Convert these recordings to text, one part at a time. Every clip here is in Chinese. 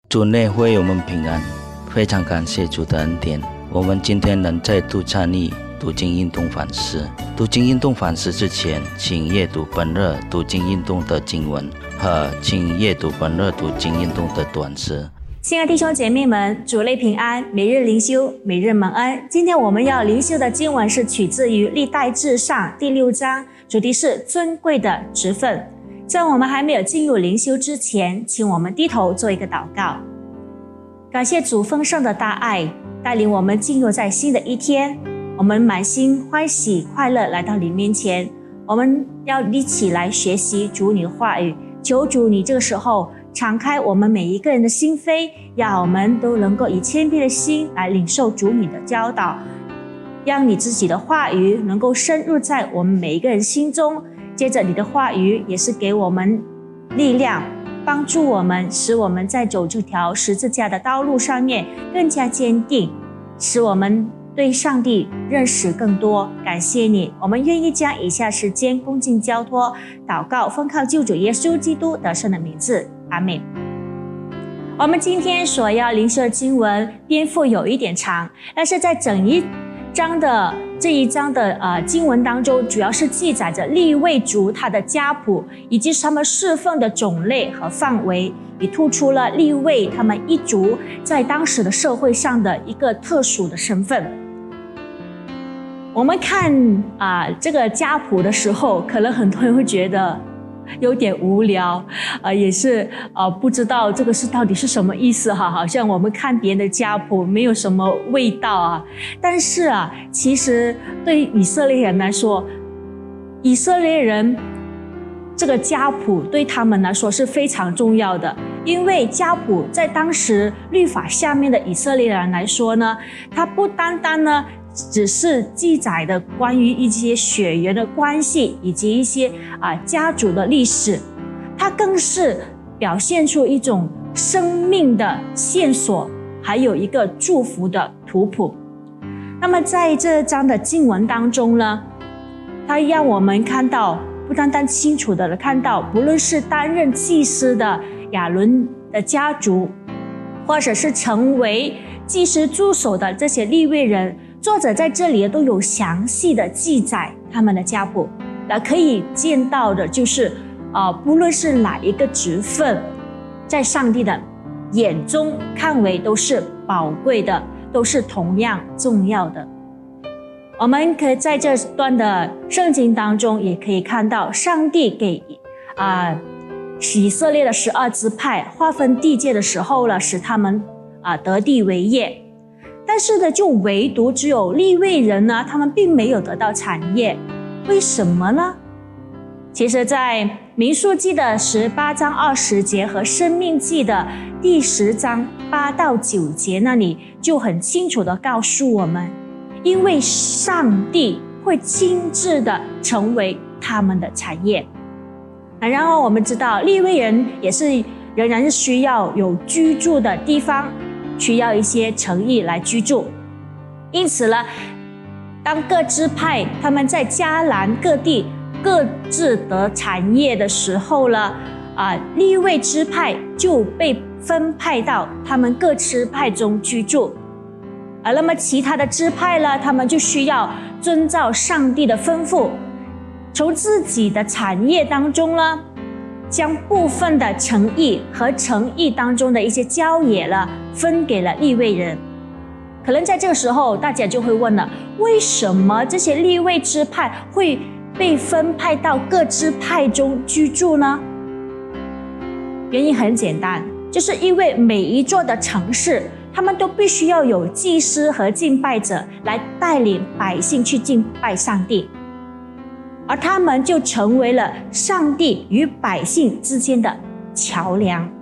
主内会友们平安，非常感谢主的恩典。我们今天能再度参与读经运动反思。读经运动反思之前，请阅读本日读经运动的经文和请阅读本日读经运动的短诗。 亲爱的弟兄姐妹们，主内平安，每日灵修，每日蒙恩。今天我们要灵修的经文是取自于历代志上第6章，主题是尊贵的职分。在我们还没有进入灵修之前，请我们低头做一个祷告。感谢主丰盛的大爱，带领我们进入在新的一天，我们满心欢喜快乐来到你面前，我们要一起来学习主你的话语。求主你这个时候敞开我们每一个人的心扉，让我们都能够以谦卑的心来领受主你的教导，让你自己的话语能够深入在我们每一个人心中。接着你的话语也是给我们力量，帮助我们，使我们在走这条十字架的道路上面更加坚定，使我们对上帝认识更多。感谢你，我们愿意将以下时间恭敬交托祷告，奉靠救主耶稣基督得胜的名字，阿们。我们今天所要灵修的经文篇幅有一点长，但是在这一章的经文当中，主要是记载着利未族他的家谱，以及他们侍奉的种类和范围，也突出了利未他们一族在当时的社会上的一个特殊的身份。我们看这个家谱的时候，可能很多人会觉得有点无聊，也是不知道这个到底是什么意思哈，好像我们看别人的家谱没有什么味道啊。但是其实对以色列人来说，以色列人这个家谱对他们来说是非常重要的，因为家谱在当时律法下面的以色列人来说呢，它不单单呢只是记载的关于一些血缘的关系以及一些家族的历史，它更是表现出一种生命的线索，还有一个祝福的图谱。那么在这章的经文当中呢，它让我们看到，不单单清楚的看到，不论是担任祭司的亚伦的家族，或者是成为祭司助手的这些利未人，作者在这里都有详细的记载他们的家谱。可以见到的就是不论是哪一个职分，在上帝的眼中看为都是宝贵的，都是同样重要的。我们可以在这段的圣经当中也可以看到，上帝给以色列的12支派划分地界的时候了，使他们得地为业。但是呢，就唯独只有利未人呢，他们并没有得到产业。为什么呢？其实在民数记的18章20节和申命记的第10章8到9节那里就很清楚地告诉我们，因为上帝会亲自的成为他们的产业。然后我们知道利未人也是仍然是需要有居住的地方，需要一些城邑来居住。因此呢，当各支派他们在迦南各地各自得产业的时候呢，利未支派就被分派到他们各支派中居住。那么其他的支派呢，他们就需要遵照上帝的吩咐，从自己的产业当中呢，将部分的城邑和城邑当中的一些郊野呢，分给了利未人。可能在这个时候大家就会问了，为什么这些利未支派会被分派到各支派中居住呢？原因很简单，就是因为每一座的城市，他们都必须要有祭司和敬拜者来带领百姓去敬拜上帝，而他们就成为了上帝与百姓之间的桥梁。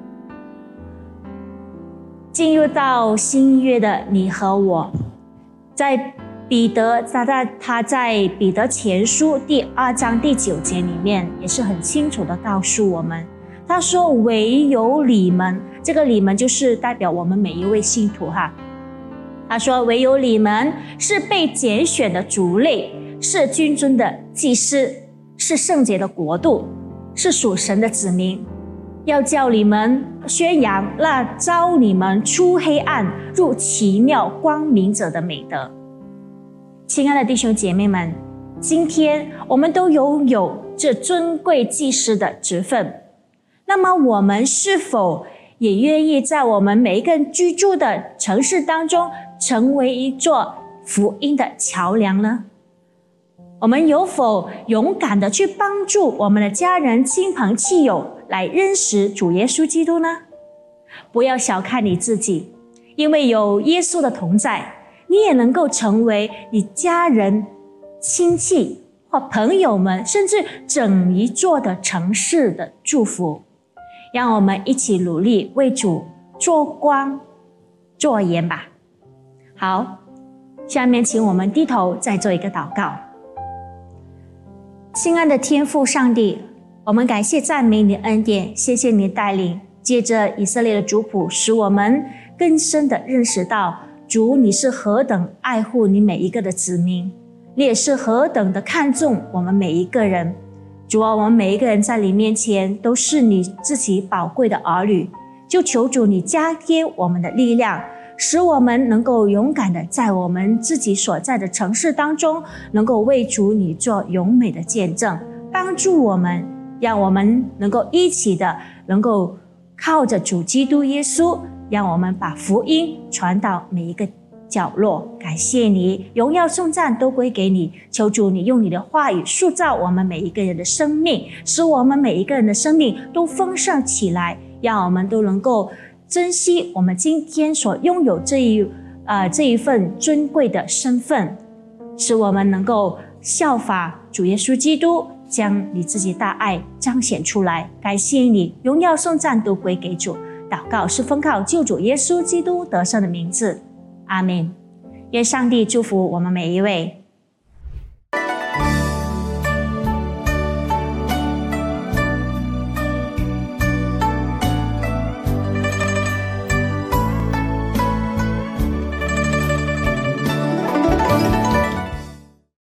进入到新约的你和我，在彼得他在彼得前书第2章第9节里面也是很清楚的告诉我们，他说唯有你们，这个你们就是代表我们每一位信徒哈。他说唯有你们是被拣选的族类，是君尊的祭司，是圣洁的国度，是属神的子民。 要叫你们宣扬那召你们出黑暗入奇妙光明者的美德。亲爱的弟兄姐妹们，今天我们都拥有这尊贵祭司的职分，那么我们是否也愿意在我们每一个人居住的城市当中成为一座福音的桥梁呢？我们有否勇敢的去帮助我们的家人、亲朋戚友来认识主耶稣基督呢？不要小看你自己，因为有耶稣的同在，你也能够成为你家人、亲戚或朋友们，甚至整一座的城市的祝福。让我们一起努力为主做光做盐吧。好，下面请我们低头再做一个祷告。亲爱的天父上帝，我们感谢赞美你的恩典，谢谢你的带领，借着以色列的族谱，使我们更深的认识到主你是何等爱护你每一个的子民，你也是何等的看重我们每一个人。主啊，我们每一个人在你面前都是你自己宝贵的儿女，就求主你加添我们的力量，使我们能够勇敢的在我们自己所在的城市当中，能够为主你做勇美的见证，帮助我们，让我们能够一起的能够靠着主基督耶稣，让我们把福音传到每一个角落。感谢你，荣耀颂赞都归给你，求主你用你的话语塑造我们每一个人的生命，使我们每一个人的生命都丰盛起来，让我们都能够珍惜我们今天所拥有这一份尊贵的身份，使我们能够效法主耶稣基督，将你自己大爱彰显出来。感谢你，荣耀颂赞都归给主。祷告是奉靠救主耶稣基督得胜的名字，阿们。愿上帝祝福我们每一位。